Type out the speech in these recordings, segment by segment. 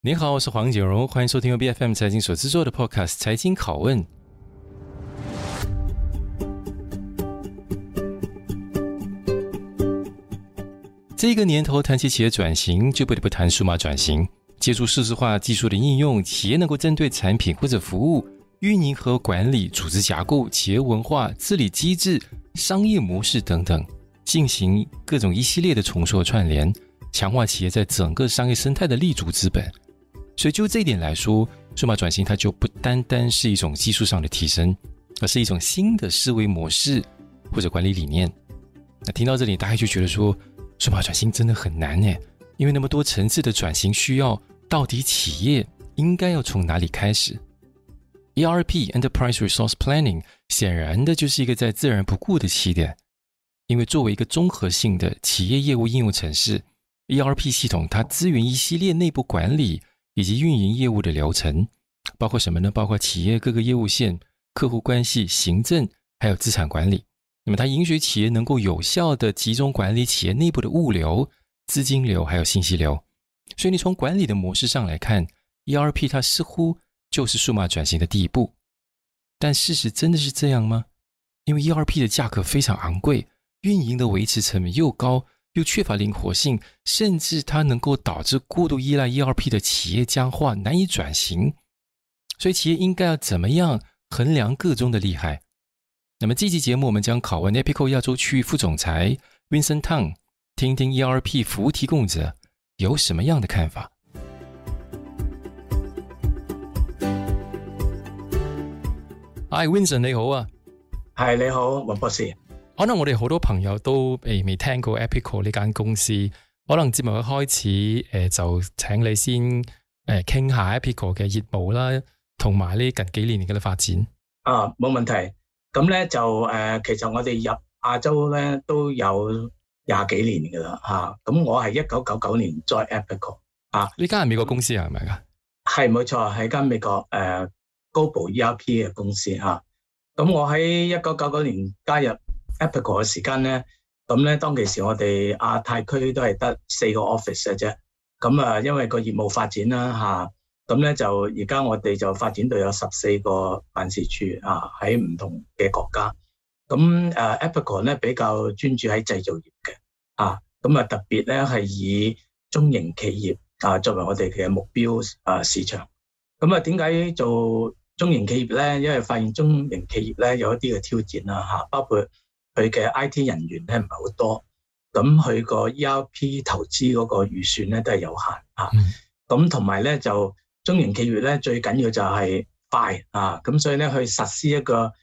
你好，我是黃錦榮，歡迎收聽由 BFM 財經所製作的 Podcast 財經拷問。這個年頭談起企業轉型，就不得不談數碼轉型。借助數字化技術的應用，企業能夠針對產品或者服務、運營和管理、組織架構、企業文化、治理機制、商業模式等等，進行各種一系列的重塑串聯，強化企業在整個商業生態的立足資本。所以就這一點來說，數碼轉型它就不單單是一種技術上的提升，而是一種新的思維模式或者管理理念。那聽到這裡，大家就覺得說，數碼轉型真的很難耶，因為那麼多層次的轉型需要，到底企業應該要從哪裡開始？ ERP Enterprise Resource Planning 顯然的就是一個在自然不過的起點，因為作為一個綜合性的企業業務應用程式， ERP 系統它支援一系列內部管理以及運營業務的流程，包括什麼呢？包括企業各個業務線、客戶關係、行政，還有資產管理。那麼它允許企業能夠有效地集中管理企業內部的物流、資金流還有信息流。所以你從管理的模式上來看， ERP 它似乎就是數碼轉型的第一步。但事實真的是這樣嗎？因為 ERP 的價格非常昂貴，運營的維持成本又高，又缺乏靈活性，甚至它能夠導致過度依賴 ERP 的企業僵化，難以轉型。所以企業應該要怎麼樣衡量個中的利害？那麼這期節目我們將拷問 Epico 亞洲區域副總裁 Vincent Tang， 聽聽 ERP 服務提供者有什麼樣的看法。Hi Vincent 你好啊。 係你好，黃博士。 可能我哋好多朋友都未聽過 Epico 呢間公司，可能節目一開始就請你先傾下 Epico 嘅業務啦，同埋呢近幾年嘅發展。 冇問題。咁咧就其實我哋入亞洲咧都有20幾年噶啦嚇。咁我係1999年 join Epico 啊。呢間係美國公司係咪㗎？係冇錯，係間美國Global ERP 嘅公司嚇。咁我喺1999年加入Epico 嘅時間咧，咁咧當其時我哋亞太區都係得4個 office 嘅啫。咁因為個業務發展啦嚇，咁咧就而家我哋就發展到有14個辦事處喺唔同嘅國家。咁Epico 咧比較專注喺製造業嘅咁特別咧係以中型企業作為我哋嘅目標市場。咁點解做中型企業咧？因為發現中型企業咧有一啲嘅挑戰啦包括佢嘅 IT 人員咧唔係好多，咁佢個 ERP 投資嗰個預算咧都係有限咁同埋咧就中型企業咧最緊要就係快咁所以咧去實施一個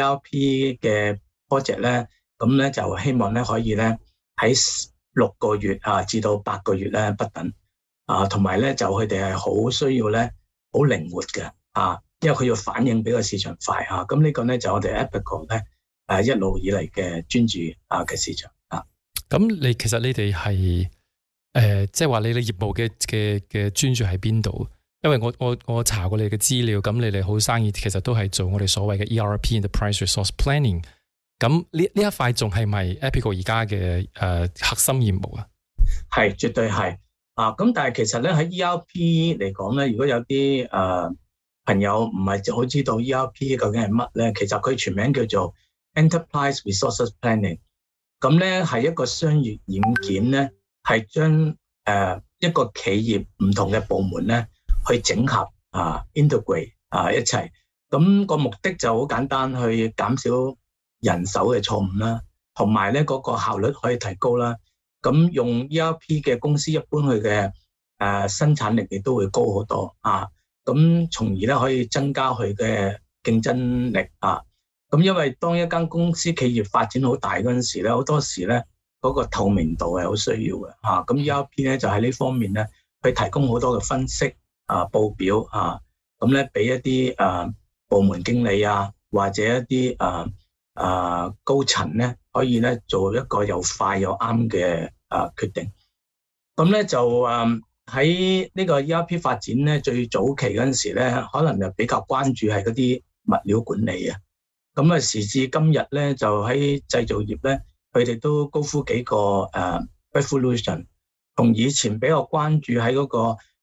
ERP 嘅 project 咧，咁咧就希望咧可以咧喺6個月至到8個月咧不等同埋咧就佢哋係好需要咧好靈活嘅因為佢要反應比個市場快咁呢個咧就我哋 Epico 咧一路以嚟嘅專注嘅市場咁其實你哋係即係話你哋業務嘅專注喺邊度？因為我查過你嘅資料，咁你哋好生意其實都係做我哋所謂嘅 ERP Enterprise Resource Planning。咁呢一塊仲係咪 Epico 而家嘅核心業務啊？ 係，絕對係咁但係其實咧喺 ERP 嚟講咧，如果有啲朋友唔係好知道 ERP 究竟係乜咧，其實佢全名叫做 Enterprise Resource Planning。咁咧係一個商業軟件咧，係將一個企業唔同嘅部門咧去整合integrate 一齊。咁個目的就好簡單，去減少人手嘅錯誤啦，同埋咧嗰個效率可以提高啦。咁用 ERP 嘅公司一般佢嘅生產力亦都會高好多咁從而咧可以增加佢嘅競爭力咁因為當一間公司企業發展好大嗰陣時咧，好多時咧嗰個透明度係好需要嘅咁 ERP 咧就喺呢方面咧，去提供好多嘅分析報表咁咧俾一啲部門經理或者一啲高層咧可以咧做一個又快又啱嘅決定。咁咧就喺呢個 ERP 發展咧最早期嗰陣時咧，可能就比較關注係嗰啲物料管理咁時至今日咧，就喺製造業咧，佢哋都高呼幾個revolution，同以前比較關注喺嗰個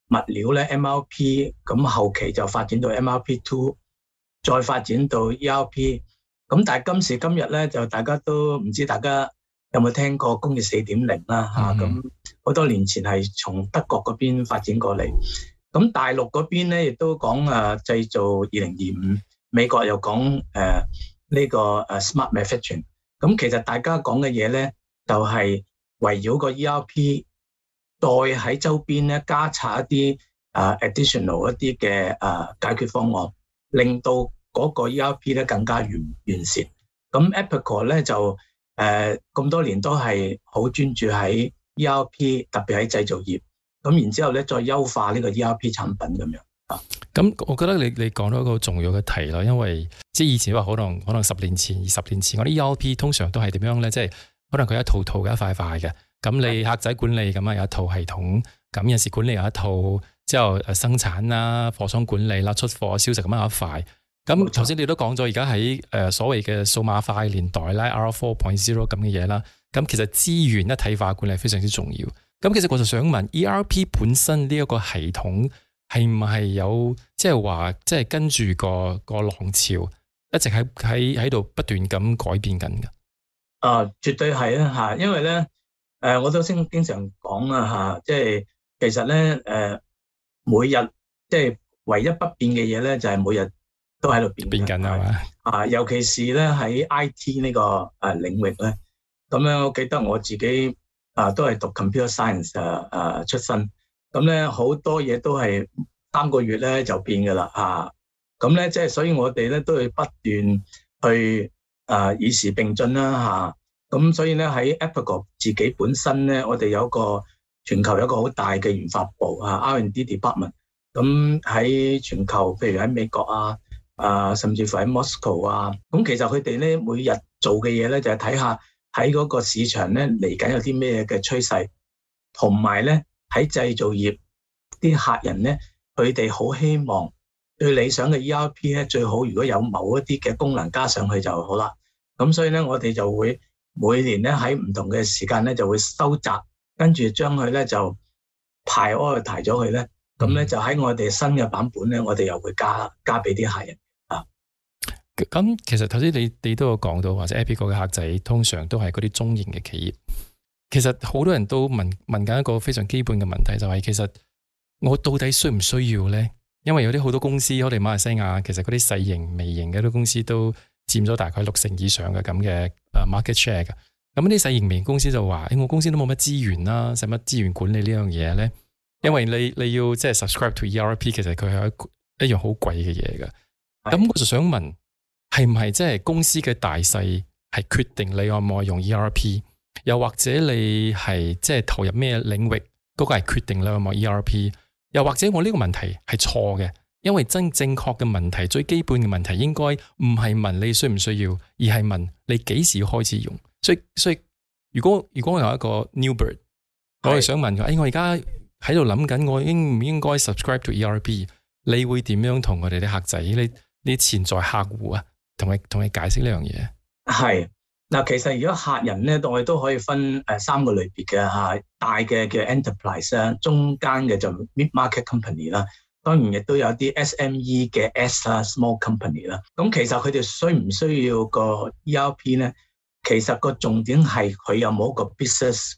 物料咧 MRP， 咁後期就發展到 MRP2， 再發展到 ERP。咁但係今時今日咧，就大家都唔知大家有冇聽過工業 4.0 啦嚇。咁好多年前係從德國嗰邊發展過嚟，咁大陸嗰邊咧亦都講製造2025，美國又講呢個smart manufacturing。咁其實大家講嘅嘢咧，就係圍繞個 ERP， 再喺周邊咧加插一啲additional 一啲嘅解決方案，令到嗰個 ERP 咧更加完善。咁 Epicor 咧就咁多年都係好專注喺 ERP， 特別喺製造業。咁然之後咧再優化呢個 ERP 產品咁樣。 咁我覺得你講到一個好重要嘅題啦，因為即係以前話可能10年前、20年前，我啲 ERP 通常都係點樣咧？即係可能佢一套嘅一塊塊嘅。咁你客仔管理咁有一套系統，咁有時管理有一套，之後生產啦、貨倉管理啦、出貨銷售咁樣有一塊。咁頭先你都講咗，而家喺所謂嘅數碼化年代啦 ，R4.0 咁嘅嘢啦，咁其實資源一體化管理非常之重要。咁其實我就想問 ERP 本身呢一個系統係唔係有即係話即係跟住個浪潮一直喺度不斷咁改變緊嘅？ 絕對係啊嚇，因為咧我都經常講啊嚇，即係其實咧每日即係唯一不變嘅嘢咧，就係每日都喺度變緊係嘛？尤其是咧喺 IT 呢個領域咧，咁樣我記得我自己都係讀 computer science 出身，咁咧好多嘢都係3個月咧就變噶啦咁咧即係所以我哋咧都要不斷去與時並進啦咁所以咧喺 Epicor 自己本身咧，我哋有個全球有一個好大嘅研發部R&D department， 咁喺全球譬如喺美國甚至乎喺 Moscow 咁其實佢哋咧每日做嘅嘢咧就係睇下喺嗰個市場咧嚟緊有啲咩嘅趨勢，同埋咧喺製造業啲客人咧，佢哋好希望最理想嘅 ERP 咧最好如果有某一啲嘅功能加上去就好啦。咁所以咧我哋就會每年咧喺唔同嘅時間咧就會收集，跟住將佢咧就排咗佢咧，咁咧就喺我哋新嘅版本咧，我哋又會加俾啲客人。 咁其實頭先你都有講到，或者 Epicor 嘅客仔通常都係嗰啲中型嘅企業。其實好多人都問緊一個非常基本嘅問題，就係其實我到底需唔需要咧？因為有啲好多公司，我哋馬來西亞其實嗰啲細型、微型嘅啲公司都佔咗大概60%以上嘅咁嘅market share 嘅。咁啲細型微型公司就話：我公司都冇乜資源啦，使乜資源管理呢樣嘢咧？因為你要即係 subscribe to ERP， 其實佢係一樣好貴嘅嘢嘅。咁我就想問，係唔係即係公司嘅大細係決定你可唔可以用 ERP？ 又或者你係即係投入咩領域，嗰個係決定你可唔可以 ERP？ 又或者我呢個問題係錯嘅？因為正確嘅問題，最基本嘅問題應該唔係問你需唔需要，而係問你幾時開始用。所以如果我有一個 new bird， 我係想問佢，我而家喺度諗緊，我應唔應該 subscribe to ERP？ 你會點樣同我哋啲客仔，你潛在客戶同你解釋呢樣嘢？係嗱，其實如果客人咧，我哋都可以分3個類別嘅大嘅叫 enterprise 啦，中間嘅就 mid market company 啦，當然亦都有啲 SME 嘅 S 啦 small company 啦。咁其實佢哋需唔需要個 ERP 咧？其實個重點係佢有冇一個 business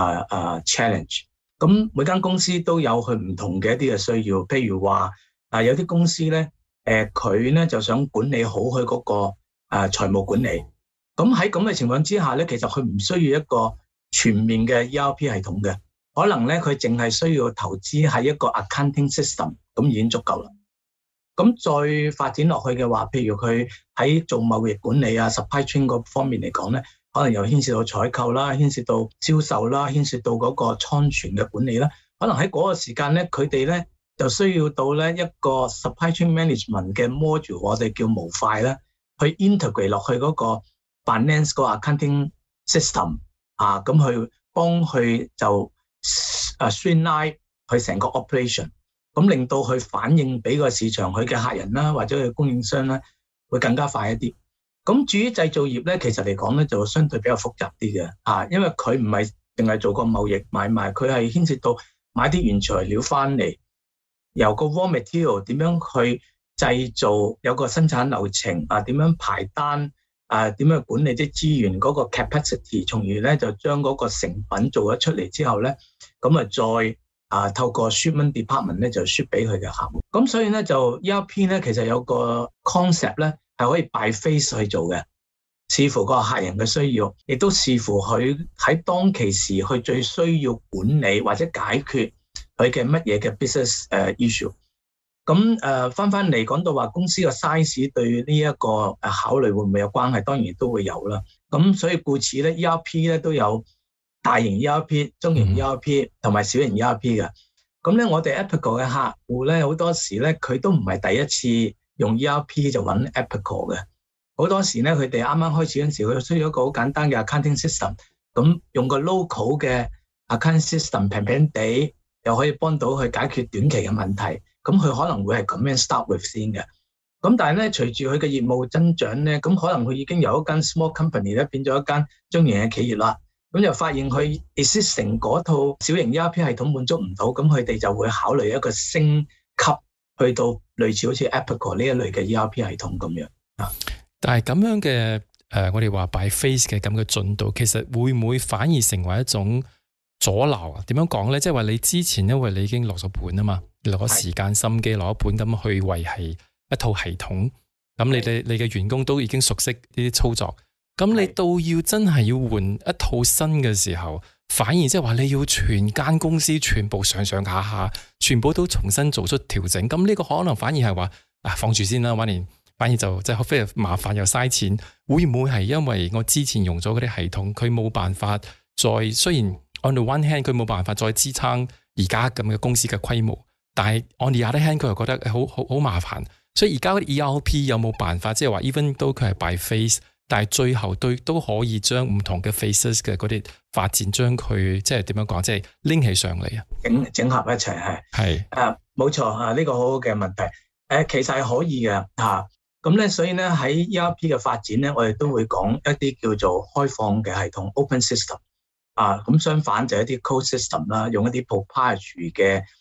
challenge。咁每間公司都有佢唔同嘅一啲嘅需要，譬如話有啲公司咧，佢咧就想管理好佢嗰個財務管理。咁喺咁嘅情況之下咧，其實佢唔需要一個全面嘅 ERP 系統嘅，可能咧佢淨係需要投資喺一個 accounting system， 咁已經足夠啦。咁再發展落去嘅話，譬如佢喺做貿易管理supply chain 嗰方面嚟講咧，可能又牽涉到採購啦，牽涉到銷售啦，牽涉到嗰個倉存嘅管理啦。可能喺嗰個時間咧，佢哋咧就需要到咧一個 supply chain management 嘅 module， 我哋叫模塊啦，去 integrate 落去嗰個 finance 個 accounting system 咁去幫佢就streamline 佢成個 operation， 咁令到佢反映俾個市場佢嘅客人啦，或者佢供應商啦，會更加快一啲。咁至於製造業咧，其實嚟講咧就相對比較複雜啲嘅因為佢唔係淨係做個貿易買賣，佢係牽涉到買啲原材料翻嚟， 由個 raw material 點樣去製造，有個生產流程啊，點樣排單啊，點樣管理啲資源嗰個 capacity， 從而咧就將嗰個成品做咗出嚟之後咧，咁再透過 shipment department 咧就 ship 俾佢嘅客戶。咁所以咧就 ERP 咧其實有個 concept 咧係可以 by phase 去做嘅，視乎個客人嘅需要，亦都視乎佢喺當其時佢最需要管理或者解決佢嘅乜嘢嘅 business issue。咁翻嚟講到話公司嘅 size 對呢一個考慮會唔會有關係？當然都會有啦。咁所以故此咧 ERP 咧都有大型 ERP、中型 ERP 同埋小型 ERP 嘅。咁咧我哋 Epical 嘅客戶咧好多時咧佢都唔係第一次用 ERP 就揾 Epical 嘅。好多時咧佢哋啱啱開始嗰陣時，佢需要一個好簡單嘅 accounting system， 咁用個 local 嘅 accounting system 平平地又可以幫到佢解決短期嘅問題。咁佢可能會係咁樣 start with 先嘅，咁但係咧隨住佢嘅業務增長咧，咁可能佢已經由一間 small company 咧變咗一間中型嘅企業啦，咁就發現佢 existing 嗰套小型 ERP 系統滿足唔到，咁佢哋就會考慮一個升級去到類似好似 Epical 呢一類嘅 ERP 系統咁樣啊。 但係咁樣嘅我哋話 by phase 嘅咁嘅進度，其實會唔會反而成為一種阻撓啊？點樣講咧？即係話你之前因為你已經落咗本啊嘛，你攞時間心機攞一本咁去維繫一套系統，咁你嘅員工都已經熟悉呢啲操作，咁你到要真係要換一套新嘅時候，反而即係話你要全間公司全部上下全部都重新做出調整，咁呢個可能反而係話放住先啦，反而就即係非常麻煩又嘥錢。會唔會係因為我之前用咗嗰啲系統，佢冇辦法再，雖然 on the one hand 佢冇辦法再支撐而家咁嘅公司嘅規模，但係 on the other hand 佢又覺得好麻煩，所以而家嗰啲 ERP 有冇辦法即係話 even 都佢係 by phase， 但係最後都可以將唔同嘅 phases 嘅嗰啲發展將佢即係點樣講，即係拎起上嚟啊， 整合一齊係冇錯啊，呢個好好嘅問題。其實係可以嘅嚇。咁咧，所以咧喺 ERP 嘅發展咧，我哋都會講一啲叫做開放嘅系統 open system 啊。咁相反就係一啲 closed system 啦，用一啲 proprietary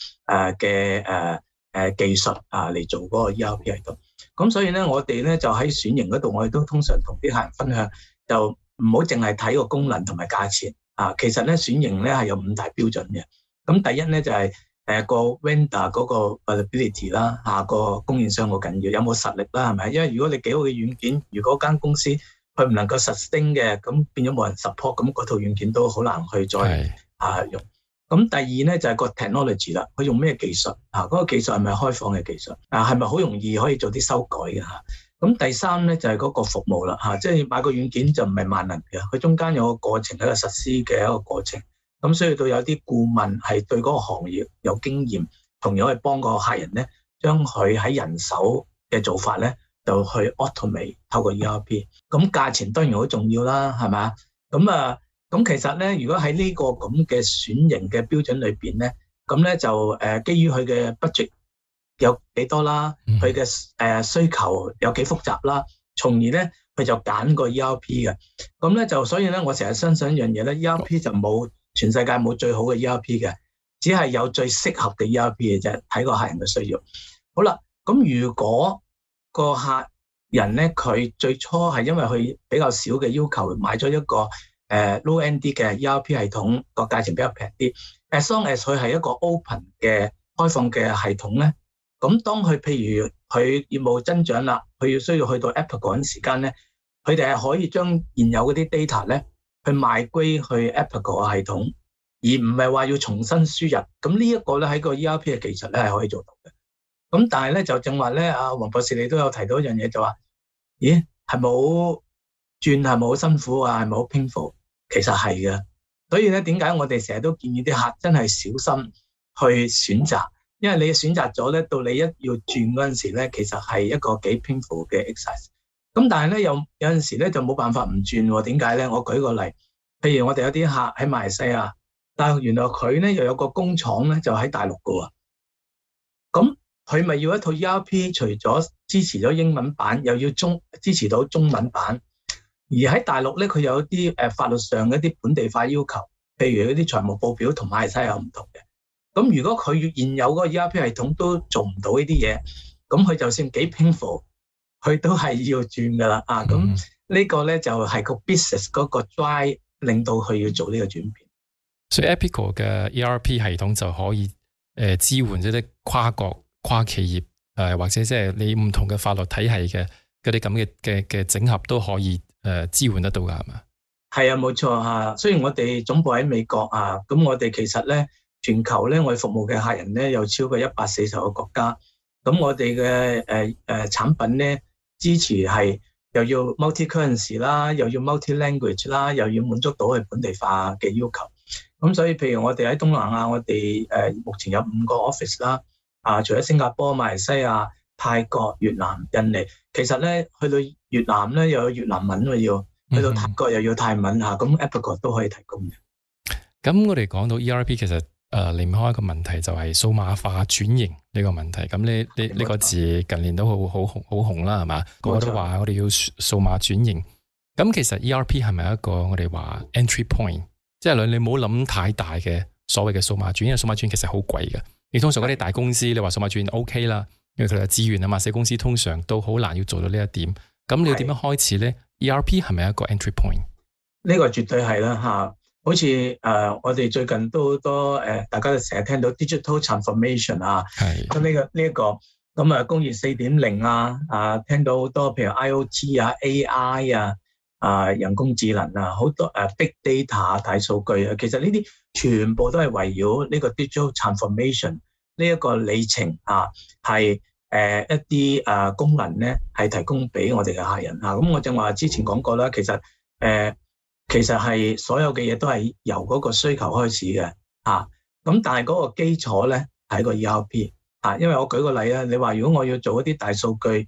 嘅技術嚟做嗰個 ERP 系統。咁所以咧，我哋咧就喺選型嗰度，我哋都通常同啲客人分享，就唔好淨係睇個功能同埋價錢啊。其實咧選型咧係有5大標準嘅。咁第一咧就係個 vendor 嗰個 availability 啦，個供應商好緊要，有冇實力啦，係咪？因為如果你幾好嘅軟件，如果間公司佢唔能夠 sustain 嘅，咁變咗冇人 support，咁嗰套軟件都好難去再用。咁第二咧就係個 technology 啦，佢用咩技術嗰個技術係咪開放嘅技術係咪好容易可以做啲修改嘅嚇？咁第三咧就係嗰個服務啦即係買個軟件就唔係萬能嘅，佢中間有個過程，一個實施嘅一個過程。咁所以到有啲顧問係對嗰個行業有經驗，同樣去幫個客人咧，將佢喺人手嘅做法咧，就去 automate 透過 ERP。咁價錢當然好重要啦，係咪？咁其實咧，如果喺呢個咁嘅選型嘅標準裏邊咧，咁咧就基於佢嘅 budget 有幾多啦，佢嘅需求有幾複雜啦，從而咧佢就揀個 ERP 嘅。咁咧就所以咧，我成日相信一樣嘢咧 ，ERP 就冇。全世界冇最好嘅 ERP 嘅，只係有最適合嘅 ERP 嘅啫，睇個客人嘅需要。好啦，咁如果個客人咧，佢最初係因為佢比較少嘅要求，買咗一個low end 啲嘅 ERP 系統，個價錢比較平啲。As long as 佢係一個 open 嘅開放嘅系統咧，咁當佢譬如佢業務增長啦，佢要需要去到 Apple 嗰陣時間咧，佢哋係可以將現有嗰啲 data 咧，去賣歸去 Epical 嘅系統，而唔係話要重新輸入。咁呢一個咧喺個 ERP 嘅技術咧係可以做到嘅。咁但係咧就正話咧，阿黃博士你都有提到一樣嘢，就話，咦係冇轉係咪好辛苦啊？係咪好 painful？其實係嘅。所以咧點解我哋成日都建議啲客真係小心去選擇，因為你選擇咗咧，到你一要轉嗰陣時咧，其實係一個幾 painful 嘅 exercise。咁但係咧有陣時咧就冇辦法唔轉喎。點解咧？我舉個例，譬如我哋有啲客喺馬來西亞，但係原來佢咧又有個工廠咧就喺大陸㗎喎。咁佢咪要一套 ERP， 除咗支持咗英文版，又要支持到中文版。而喺大陸咧，佢有啲法律上嘅一啲本地化要求，譬如嗰啲財務報表同馬來西亞有唔同嘅。 咁如果佢現有嗰個 ERP 系統都做唔到呢啲嘢，咁佢就算幾 painful，佢都係要轉噶啦啊！咁呢個咧就係個 business 嗰個 drive 令到佢要做呢個轉變。 所以 Epico 嘅 ERP 系統就可以支援即係跨國跨企業或者即係你唔同嘅法律體系嘅嗰啲咁嘅整合都可以支援得到噶，係嘛？係啊， 冇錯嚇。雖然我哋總部喺美國啊，咁我哋其實咧全球咧我哋服務嘅客人咧有超過140個國家。咁我哋嘅產品咧支持係又要 multi currency 啦，又要 multi language 啦，又要滿足到佢本地化嘅要求。咁所以譬如我哋喺東南亞，我哋目前有5個 office 啦。除咗新加坡、馬來西亞、泰國、越南、印尼，其實咧去到越南咧又有越南文要，去到泰國又要泰文嚇，咁 Epico 都可以提供嘅。 咁我哋講到 ERP 其實離唔開一個問題就係數碼化轉型呢個問題。咁呢個字近年都好紅啦，係嘛？個個都話我哋要數碼轉型。咁其實 ERP 係咪一個我哋話 entry point？即係你唔好諗太大嘅所謂嘅數碼轉，因為數碼轉其實好貴嘅。你通常嗰啲大公司，你話數碼轉 OK 啦，因為佢哋有資源啊嘛。細公司通常都好難要做到呢一點。咁你要點樣開始咧 ？ERP 係咪一個 entry point？ 呢個絕對係啦嚇。好似我哋最近都好多大家都成日聽到 digital transformation 啊。係。咁呢一個咁啊，工業4.0聽到好多譬如 IoT 啊、AI 人工智能啊，好多big data 大數據啊，其實呢啲全部都係圍繞呢個 digital transformation 呢一個里程係一啲功能咧係提供俾我哋嘅客人啊。咁我正話之前講過啦，其實係所有嘅嘢都係由嗰個需求開始嘅咁但係嗰個基礎咧係個 ERP 因為我舉個例啊，你話如果我要做一啲大數據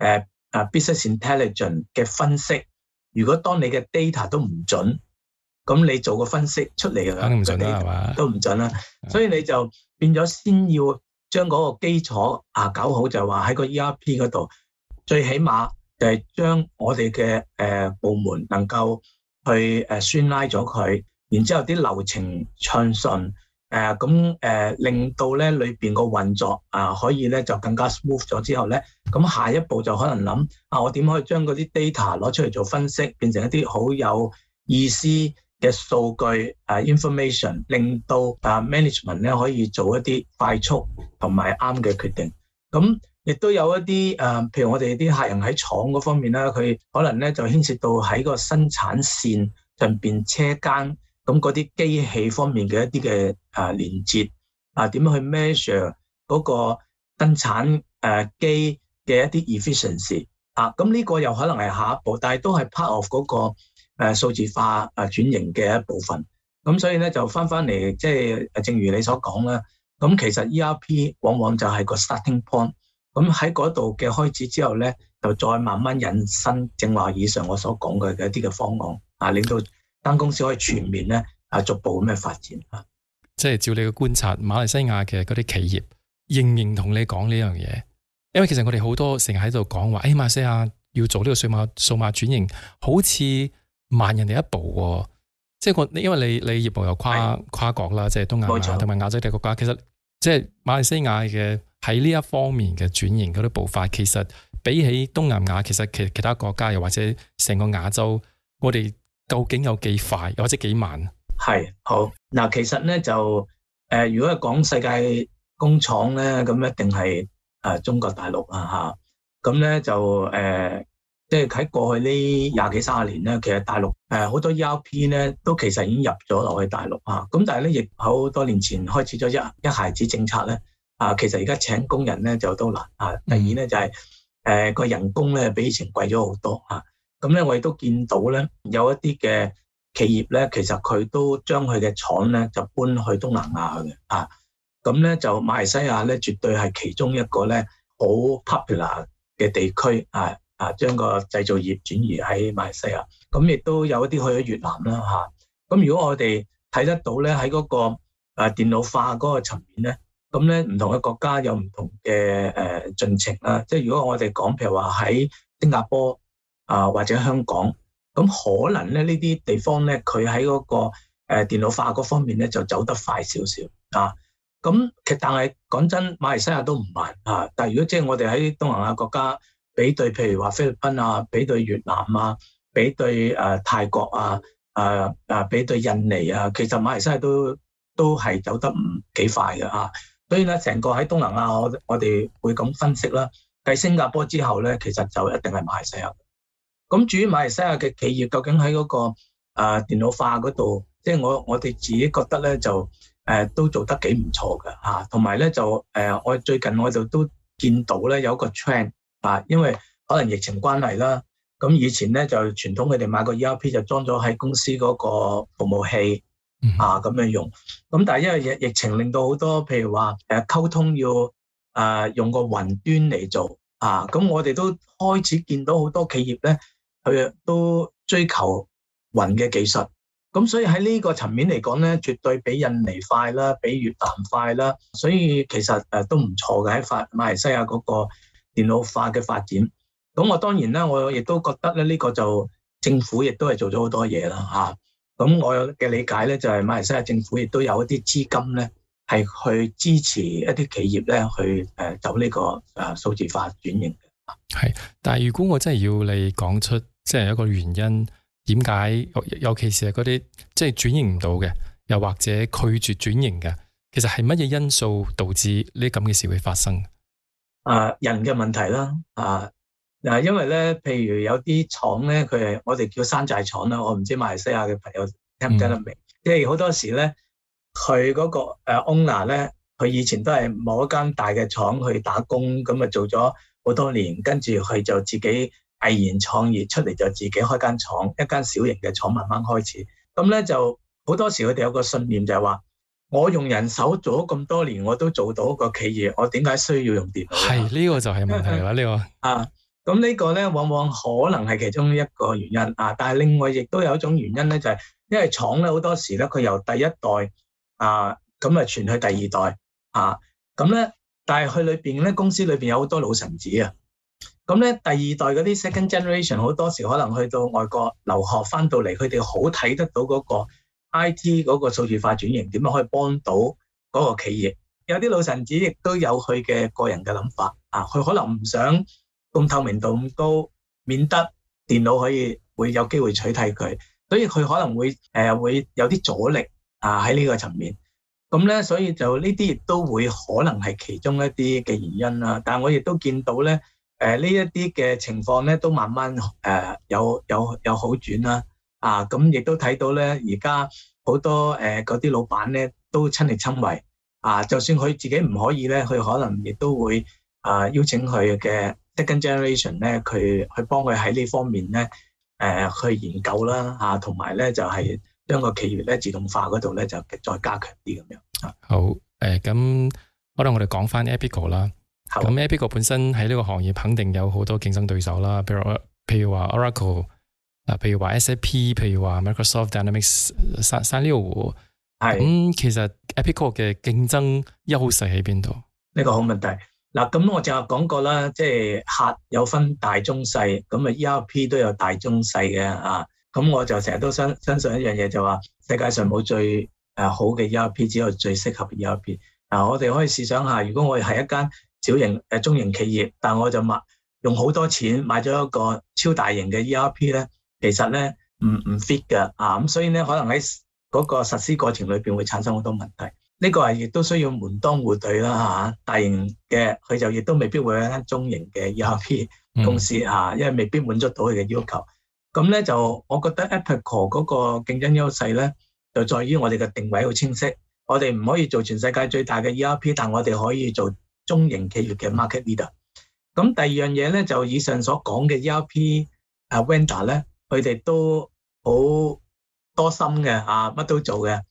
business intelligence 嘅分析。如果當你嘅 data 都唔準，咁你做個分析出嚟嘅肯定唔準啦，係嘛？都唔準啦，所以你就變咗先要將嗰個基礎搞好，就係話喺個 ERP 嗰度，最起碼就係將我哋嘅部門能夠去streamline咗佢，然之後啲流程暢順，令到咧裏邊個運作可以咧就更加 smooth 咗之後咧，咁下一步就可能諗我點可以將嗰啲 data 攞出嚟做分析，變成一啲好有意思嘅數據information， 令到management 咧可以做一啲快速同埋啱嘅決定。咁亦都有一啲譬如我哋啲客人喺廠嗰方面啦，佢可能咧就牽涉到喺個生產線上邊車間。咁嗰啲機器方面嘅一啲嘅連接點樣去 measure 嗰個生產機嘅一啲 efficiency 咁呢個又可能係下一步，但係都係 part of 嗰個數字化轉型嘅一部分。咁所以咧就翻嚟，即係正如你所講啦。咁其實 ERP 往往就係個 starting point。咁喺嗰度嘅開始之後咧，就再慢慢引申正話以上我所講嘅一啲嘅方案令到間公司可以全面咧逐步咁樣發展即係照你嘅觀察，馬來西亞嘅嗰啲企業認唔認同你講呢樣嘢？因為其實我哋好多成日喺度講話，馬來西亞要做呢個數碼轉型，好似慢人哋一步。即係因為你業務又跨國啦，即係東亞同埋亞洲嘅國家，其實即係馬來西亞嘅喺呢一方面嘅轉型嗰啲步伐，其實比起東南亞，其實其他國家又或者成個亞洲，我哋究竟有幾快，又或者幾慢？ 係好嗱，其實咧就如果係講世界工廠咧，咁一定係中國大陸咁咧就即係喺過去呢20幾30年咧，其實大陸好多 ERP 咧都其實已經入咗落去大陸咁但係咧亦好多年前開始咗一孩子政策咧其實而家請工人咧就都難第二咧就係個人工咧比以前貴咗好多咁咧我亦都見到咧有一啲嘅企業咧，其實佢都將佢嘅廠咧就搬去東南亞嘅咁咧就馬來西亞咧絕對係其中一個咧好 popular 嘅地區將個製造業轉移喺馬來西亞，咁亦都有一啲去咗越南啦咁如果我哋睇得到咧喺嗰個電腦化嗰個層面咧，咁咧唔同嘅國家有唔同嘅進程啦。即係如果我哋講譬如話喺新加坡或者香港，咁可能咧呢啲地方咧佢喺嗰個電腦化嗰方面咧就走得快少少咁其實但係講真，馬來西亞都唔慢啊。但係如果即係我哋喺東南亞國家比對，譬如話菲律賓啊，比對越南啊，比對泰國啊，比對印尼啊，其實馬來西亞都係走得唔幾快嘅啊。所以咧，成個喺東南亞，我哋會咁分析啦。繼新加坡之後咧，其實就一定係馬來西亞。咁至於馬來西亞嘅企業，究竟喺嗰個電腦化嗰度，即係我哋自己覺得咧，就都做得幾唔錯嘅嚇。同埋咧就我最近我就都見到咧有個 trend 啊，因為可能疫情關係啦。咁以前咧就傳統佢哋買個 ERP 就裝咗喺公司嗰個服務器咁樣用。咁但係因為疫情令到好多譬如話溝通要用個雲端嚟做啊，咁我哋都開始見到好多企業咧，佢都追求雲嘅技術。咁所以喺呢個層面嚟講咧，絕對比印尼快啦，比越南快啦。所以其實都唔錯嘅喺馬來西亞嗰個電腦化嘅發展。咁我當然啦，我亦都覺得咧，呢個就政府亦都係做咗好多嘢啦嚇。咁我嘅理解咧，就係馬來西亞政府亦都有一啲資金咧，係去支持一啲企業咧去走呢個數字化轉型嘅。 係，但係如果我真係要你講出即係一個原因，點解尤其是係嗰啲即係轉型唔到嘅，又或者拒絕轉型嘅，其實係乜嘢因素導致呢咁嘅事會發生？ 人嘅問題啦，因為咧，譬如有啲廠咧，佢係我哋叫山寨廠啦，我唔知馬來西亞嘅朋友聽唔聽得明？即係好多時咧，佢嗰個owner 咧，佢以前都係某一間大嘅廠去打工，咁啊做咗好多年，跟住佢就自己毅然創業出嚟，就自己開間廠，一間小型嘅廠慢慢開始。咁咧就好多時佢哋有個信念就係話，我用人手做咗咁多年，我都做到一個企業，我點解需要用電腦？係呢個就係問題啦，呢個咁呢個咧，往往可能係其中一個原因但係另外亦都有一種原因咧，就係因為廠咧好多時咧，佢由第一代咁傳去第二代咁咧，但係佢裏邊咧，公司裏邊有好多老臣子啊。咁咧，第二代嗰啲 second generation 好多時可能去到外國留學翻到嚟，佢哋好睇得到嗰個 IT 嗰個數字化轉型點樣可以幫到嗰個企業。有啲老臣子亦都有佢嘅個人嘅諗法佢可能唔想咁透明度咁高，免得電腦會有機會取替佢，所以佢可能會有啲阻力喺呢個層面。咁咧，所以就呢啲亦都會可能係其中一啲嘅原因啦。但係我亦都見到咧，呢一啲嘅情況咧都慢慢有好轉啦。咁亦都睇到咧，而家好多嗰啲老闆咧都親力親為就算佢自己唔可以咧，佢可能亦都會邀請佢嘅second generation 咧，佢去幫佢喺呢方面咧，去研究啦，同埋咧就係將個企業咧自動化嗰度咧就再加強啲咁樣。 好，咁可能我哋講翻 Epico 啦。咁 Epico 本身喺呢個行業肯定有好多競爭對手啦，譬如話 Oracle，譬如話 SAP， 譬如話 Microsoft Dynamics 365。咁其實 Epico 嘅競爭優勢喺邊度？ 呢個好問題。嗱，咁我就講過啦，即係客有分大中細，咁ERP 都有大中細嘅咁我就成日都相信一樣嘢，就話世界上冇最好嘅 ERP， 只有最適合嘅 ERP。我哋可以試想下，如果我係一間小型中型企業，但我就用好多錢買咗一個超大型嘅 ERP 咧，其實咧唔 fit 嘅咁所以咧可能喺嗰個實施過程裏邊會產生好多問題。呢個係亦都需要門當戶對啦大型嘅佢就亦都未必會有一間中型嘅 ERP 公司因為未必滿足到佢嘅要求。咁咧就我覺得 Epico 嗰個競爭優勢咧，就在於我哋嘅定位好清晰。我哋唔可以做全世界最大嘅 ERP， 但我哋可以做中型企業嘅 market leader。咁第二樣嘢咧，就以上所講嘅 ERP vendor 咧，佢哋都好多心嘅乜都做嘅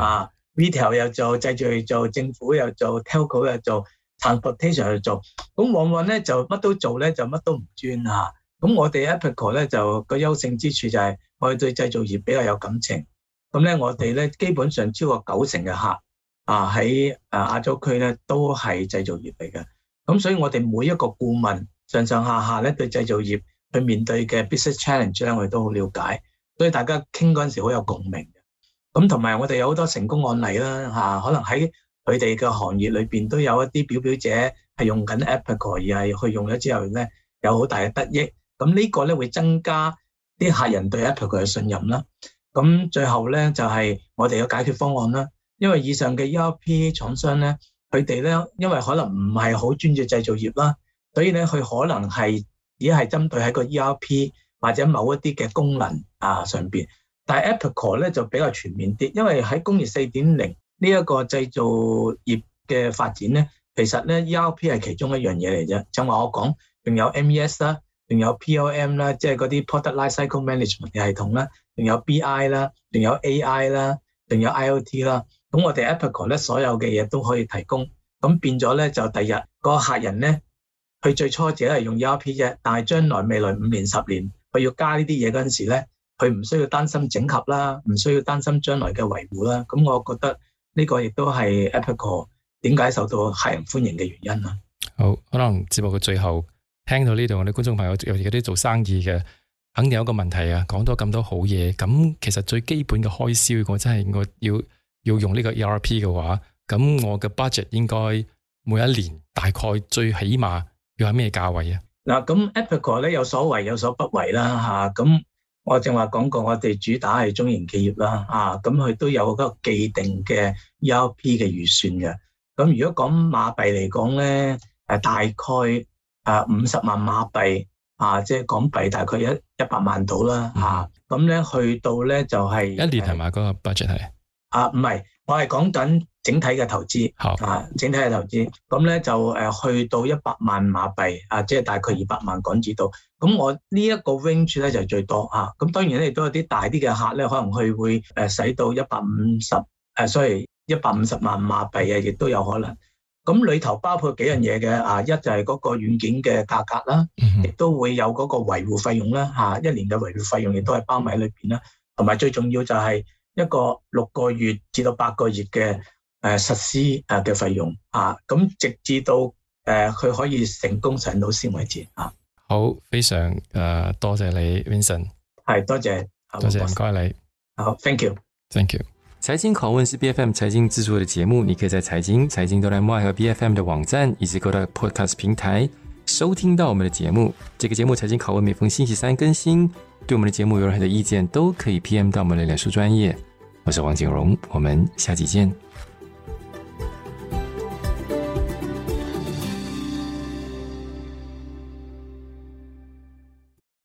retail 又做，製造又做，政府又做 telco 又做 transportation 又做，咁往往咧就乜都做咧，就乜都唔專咁我哋 Epico 咧就個優勝之處就係我哋對製造業比較有感情。咁咧我哋咧基本上超過90%嘅客喺亞洲區咧都係製造業嚟嘅。咁所以我哋每一個顧問上上下下咧對製造業去面對嘅 business challenge 咧，我哋都好了解，所以大家傾嗰陣時好有共鳴嘅。咁同埋我哋有好多成功案例啦可能喺佢哋嘅行業裏邊都有一啲表表者係用緊 Epicor， 而係去用咗之後咧有好大嘅得益。咁呢個咧會增加啲客人對 Epicor 嘅信任啦。咁最後咧就係我哋嘅解決方案啦。因為以上嘅 ERP 廠商咧，佢哋咧因為可能唔係好專注製造業啦，所以咧佢可能係只係針對喺個 ERP 或者某一啲嘅功能上邊。但係 Epicor 咧就比較全面啲，因為喺工業 4.0 呢一個製造業嘅發展咧，其實咧 ERP 係其中一樣嘢嚟啫。正話我講，仲有 MES 啦，仲有 PLM 啦，即係嗰啲 Product Lifecycle Management 嘅系統啦，仲有 BI 啦，仲有 AI 啦，仲有 IoT 啦。咁我哋 Epicor 咧所有嘅嘢都可以提供，咁變咗咧就第日個客人咧，佢最初只係用 ERP 啫，但係將來未來5年10年，佢要加呢啲嘢嗰陣時咧，佢唔需要擔心整合啦，唔需要擔心將來嘅維護啦。咁我覺得呢個亦都係 Epicor 點解受到客人歡迎嘅原因啦。 好，可能節目嘅最後聽到呢度，我哋觀眾朋友尤其嗰啲做生意嘅，肯定有一個問題啊，講咗咁多好嘢，咁其實最基本嘅開銷，我真係我要用呢個 ERP 嘅話，咁我嘅 budget 應該每一年大概最起碼要喺咩價位啊？嗱，咁 Epicor 咧有所為有所不為啦嚇，咁我正話講過，我哋主打係中型企業啦，咁佢都有個既定嘅 ERP 嘅預算嘅。咁如果講馬幣嚟講咧，大概50萬馬幣即係港幣大概100萬到啦，咁咧去到咧就係一年係嘛？嗰個 budget 係？唔係，我係講緊整體嘅投資，整體嘅投資，咁咧就去到100萬馬幣，即係大概200萬港紙度。咁我呢一個 range 咧就係最多咁當然咧亦都有啲大啲嘅客咧，可能佢會使到150萬馬幣亦都有可能。咁裏頭包括幾樣嘢嘅，一就係嗰個軟件嘅價格啦，亦都會有嗰個維護費用啦，一年嘅維護費用亦都係包埋喺裏邊啦，同埋最重要就係一個6個月至到8個月嘅實施嘅費用咁直至到佢可以成功上到先為止好，非常多謝你 Vincent， 係多謝，唔該你，好 ，Thank you。財經拷問是 BFM 財經製作的節目，你可以在財經都來麥和 BFM 的網站以及各大 Podcast 平台收聽到我們的節目。這個節目財經拷問每逢星期3更新。對我們的節目有任何的意見，都可以 PM 到我們的臉書專頁。我是王景榮，我們下期見。